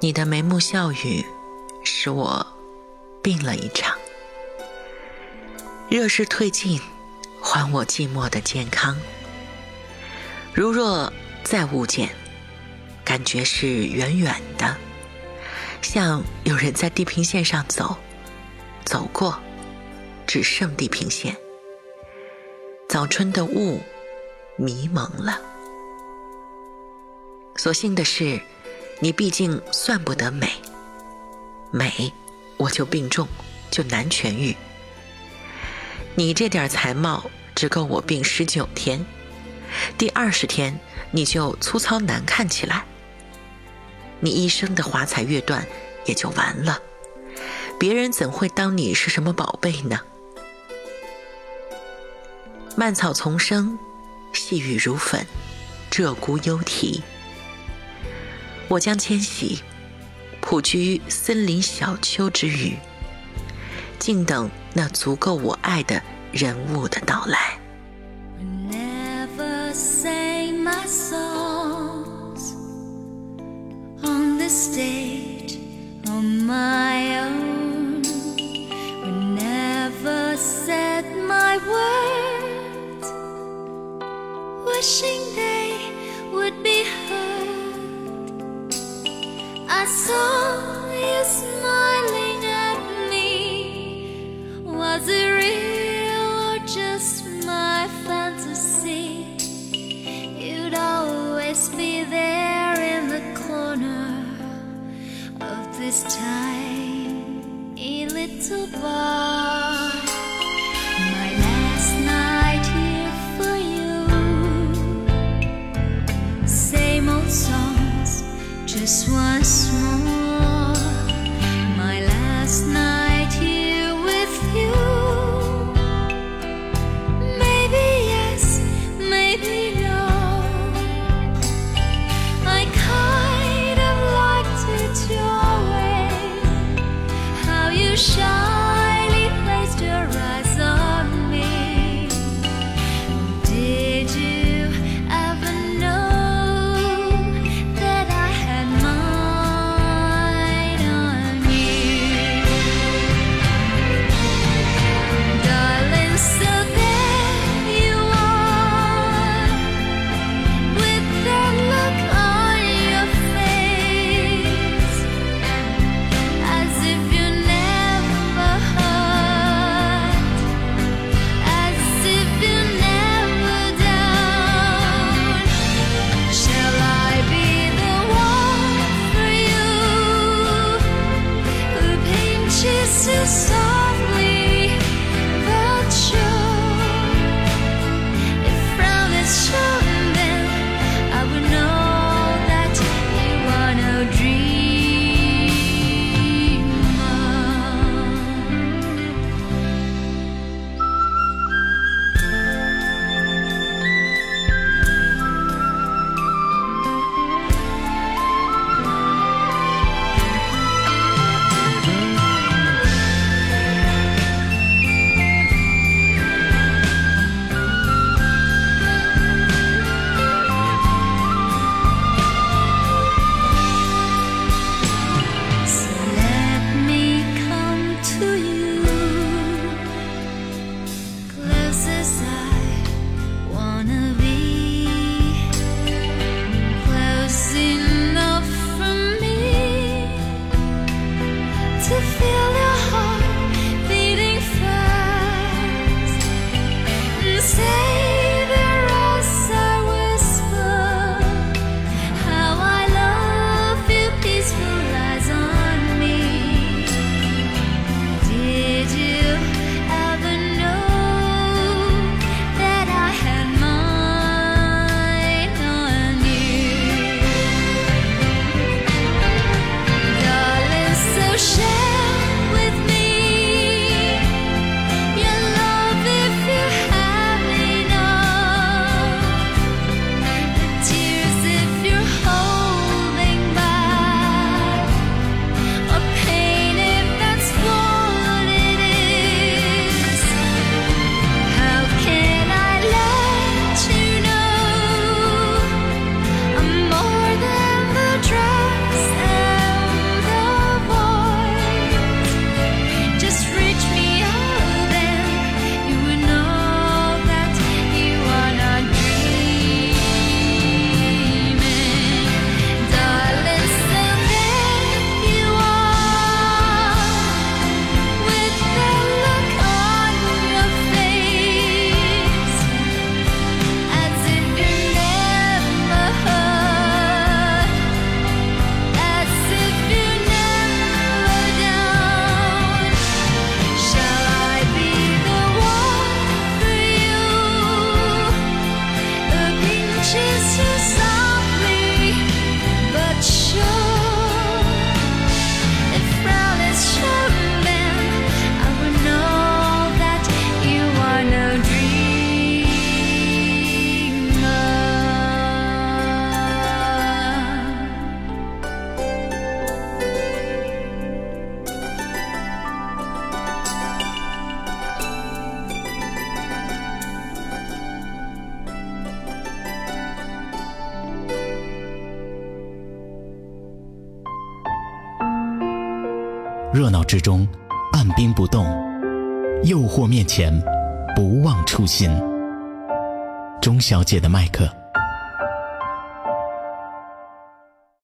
你的眉目笑语使我病了一场。热势退尽，还我寂寞的健康。如若再误见，感觉是远远的，像有人在地平线上走过，只剩地平线。早春的雾迷蒙了。所幸的是，你毕竟算不得美，我就病重，就难痊愈。你这点才貌只够我病19天，第20天你就粗糙难看起来，你一生的华彩乐段也就完了，别人怎会当你是什么宝贝呢？蔓草丛生，细雨如粉，鹧鸪幽啼。我将迁徙，普居森林小丘之隅，静等那足够我爱的人物的到来。 Never sang my songs on the stage on my own. We never said my words, wishing they would be heard. I saw you smiling at me. Was it real or just my fantasy? You'd always be there in the corner of this tiny little bar. My last night here for you. Same old songs, just once more. My last 热闹之中按兵不动，诱惑面前不忘初心。钟小姐的麦克。